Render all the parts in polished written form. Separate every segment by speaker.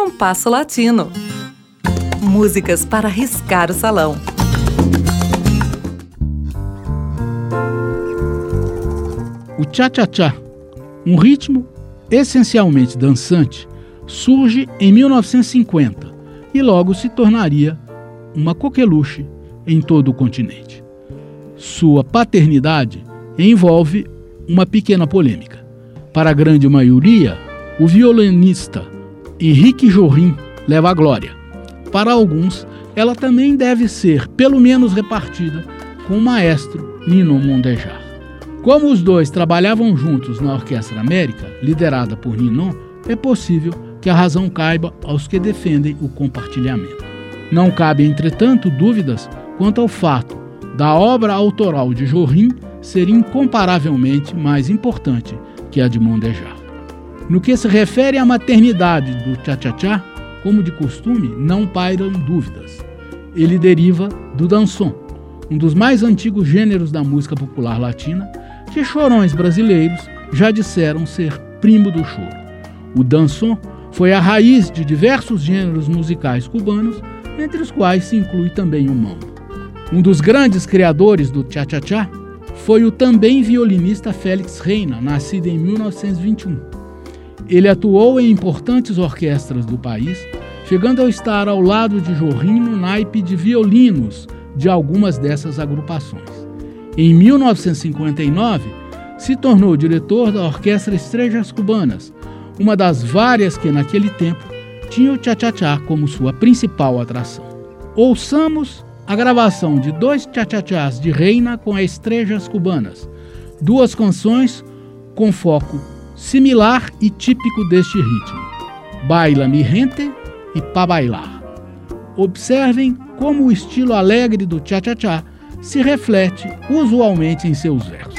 Speaker 1: Compasso Latino. Músicas para riscar o salão.
Speaker 2: O cha-cha-cha, um ritmo essencialmente dançante, surge em 1950 e logo se tornaria uma coqueluche em todo o continente. Sua paternidade envolve uma pequena polêmica. Para a grande maioria, o violinista Henrique Jorrin leva a glória. Para alguns, ela também deve ser pelo menos repartida com o maestro Ninon Mondejar. Como os dois trabalhavam juntos na Orquestra América, liderada por Ninon, é possível que a razão caiba aos que defendem o compartilhamento. Não cabe, entretanto, dúvidas quanto ao fato da obra autoral de Jorrin ser incomparavelmente mais importante que a de Mondejar. No que se refere à maternidade do cha-cha-cha, como de costume, não pairam dúvidas. Ele deriva do dançon, um dos mais antigos gêneros da música popular latina, que chorões brasileiros já disseram ser primo do choro. O dançon foi a raiz de diversos gêneros musicais cubanos, entre os quais se inclui também o mambo. Um dos grandes criadores do cha-cha-cha foi o também violinista Félix Reina, nascido em 1921. Ele atuou em importantes orquestras do país, chegando a estar ao lado de Jorrin no naipe de violinos de algumas dessas agrupações. Em 1959, se tornou diretor da Orquestra Estrellas Cubanas, uma das várias que naquele tempo tinha o cha-cha-cha como sua principal atração. Ouçamos a gravação de 2 cha-cha-chás de Reina com a Estrellas Cubanas, 2 canções com foco similar e típico deste ritmo, Baila mi gente e Pa Bailar. Observem como o estilo alegre do cha-cha-cha se reflete usualmente em seus versos.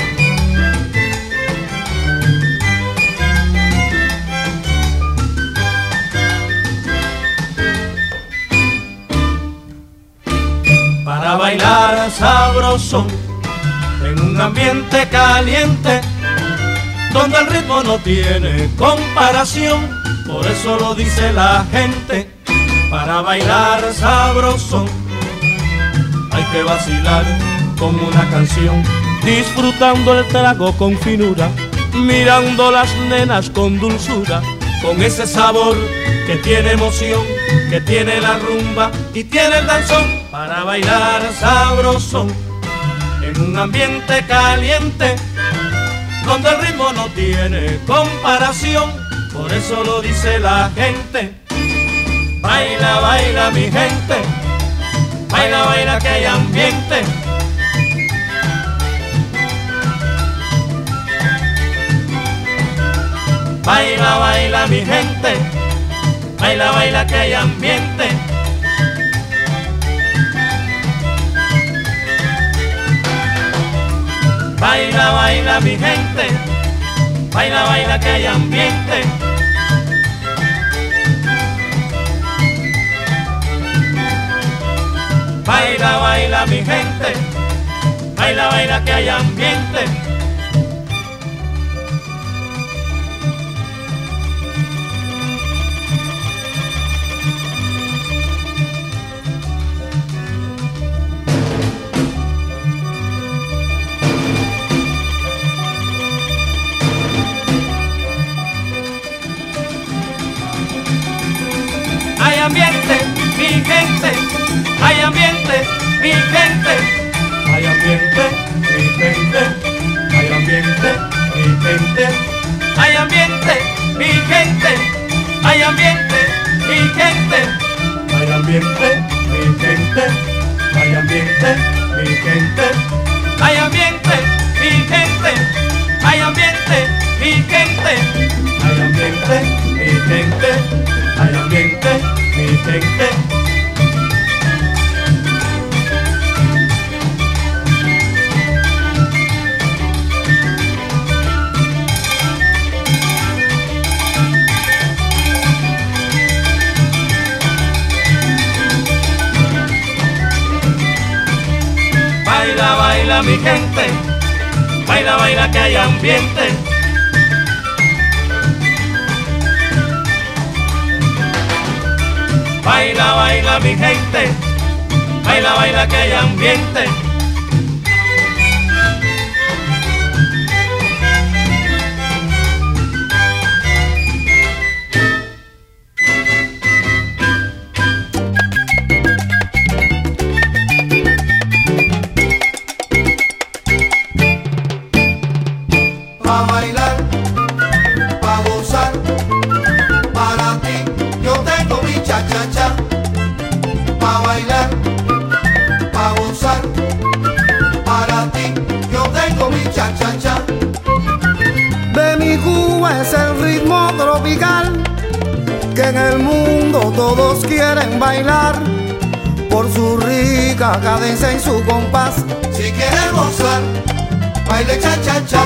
Speaker 3: Para bailar sabroso en un ambiente caliente donde el ritmo no tiene comparación, por eso lo dice la gente. Para bailar sabroso hay que vacilar con una canción, disfrutando el trago con finura, mirando las nenas con dulzura, con ese sabor que tiene emoción, que tiene la rumba y tiene el danzón. Para bailar sabroso en un ambiente caliente donde el ritmo no tiene comparación, por eso lo dice la gente. Baila, baila mi gente, baila, baila que hay ambiente. Baila, baila mi gente, baila, baila que hay ambiente. Baila, baila mi gente, baila, baila que hay ambiente. Baila, baila mi gente, baila, baila que hay ambiente. Hay ambiente, mi gente, hay ambiente, mi gente, hay ambiente, mi gente, hay ambiente, mi gente, hay ambiente, mi gente, hay ambiente, mi gente, hay ambiente, mi gente, hay ambiente, mi gente, hay ambiente, mi gente, hay ambiente, mi gente, hay ambiente, mi gente, hay ambiente, mi gente. Baila, baila mi gente, baila, baila que hay ambiente. Baila, baila mi gente, baila, baila que hay ambiente.
Speaker 4: Pa' bailar, pa' gozar, para ti yo tengo mi cha-cha-cha. Pa' bailar, pa' gozar, para ti yo tengo mi cha-cha-cha.
Speaker 5: De mi Cuba es el ritmo tropical que en el mundo todos quieren bailar por su rica cadencia y su compás.
Speaker 4: Si quieres gozar, baile cha-cha-cha.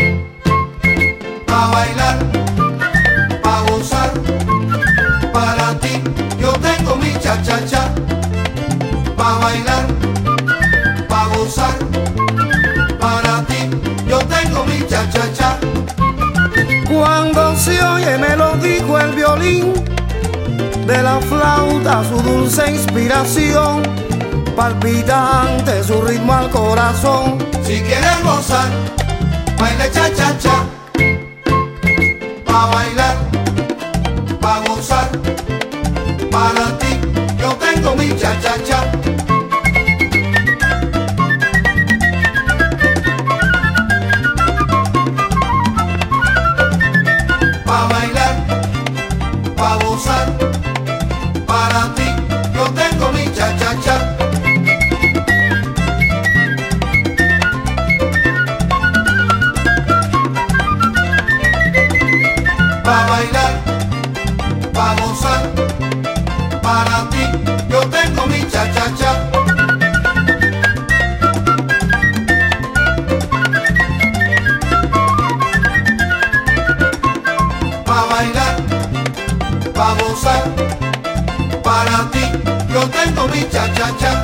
Speaker 4: Pa' bailar, pa' gozar, para ti yo tengo mi cha-cha-cha. Pa' bailar, pa' gozar, para ti yo tengo mi cha-cha-cha.
Speaker 5: Cuando se oye me lo dijo el violín, de la flauta su dulce inspiración, palpitante su ritmo al corazón.
Speaker 4: Si quieres gozar, baile cha-cha-cha. Pa' bailar, pa' gozar, para ti yo tengo mi cha-cha-cha. Pa' bailar, pa' gozar, para ti yo tengo mi cha-cha-cha. Pa' bailar, pa' gozar, para ti yo tengo mi cha-cha-cha. Pa' bailar, pa' gozar, para ti yo tengo mi cha-cha-cha.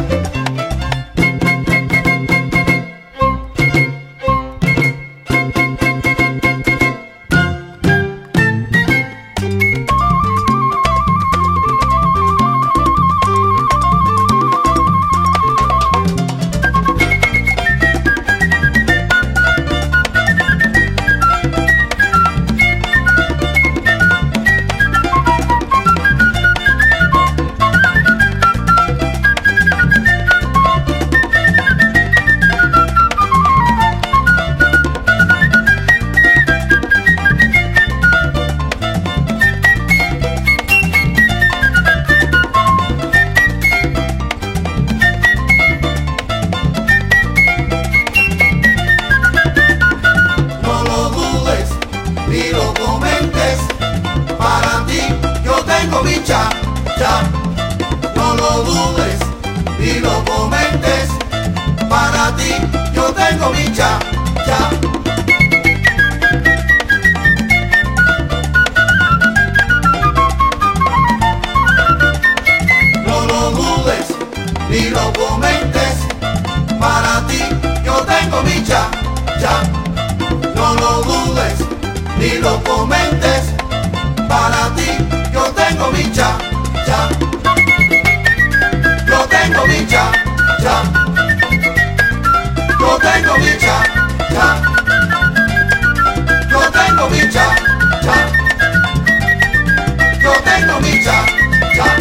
Speaker 4: Ni lo comentes, para ti yo tengo mi cha-cha. No lo dudes, ni lo comentes, para ti yo tengo mi cha-cha. No lo dudes, ni lo comentes, para ti yo tengo mi cha-cha. No lo dudes, ni lo comentes, para ti yo tengo mi cha-cha. Yo tengo mi cha-cha. Yo tengo mi cha-cha. Yo tengo mi cha-cha. Yo tengo mi cha-cha.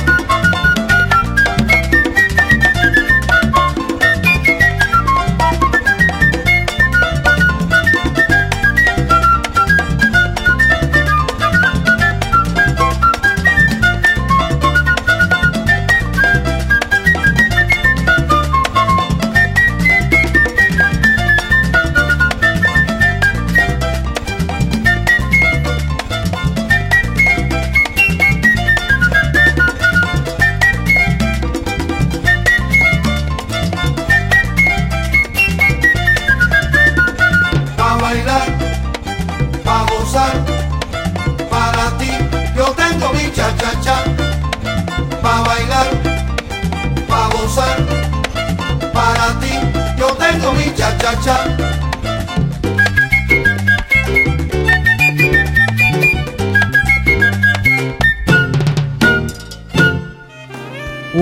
Speaker 4: Para ti yo tengo mi cha-cha-cha. Pa' bailar, pa' gozar, para ti yo tengo mi cha-cha-cha.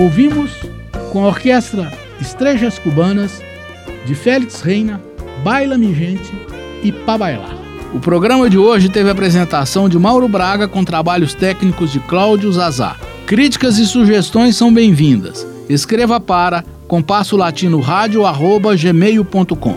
Speaker 2: Ouvimos com a orquestra Estrelas Cubanas, de Félix Reina, Baila-me Gente e Pá Bailar. O programa de hoje teve a apresentação de Mauro Braga com trabalhos técnicos de Cláudio Zazá. Críticas e sugestões são bem-vindas. Escreva para compassolatinoradio@gmail.com.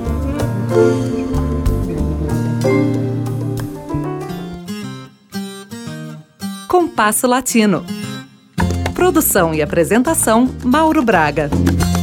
Speaker 1: Compasso Latino. Produção e apresentação, Mauro Braga.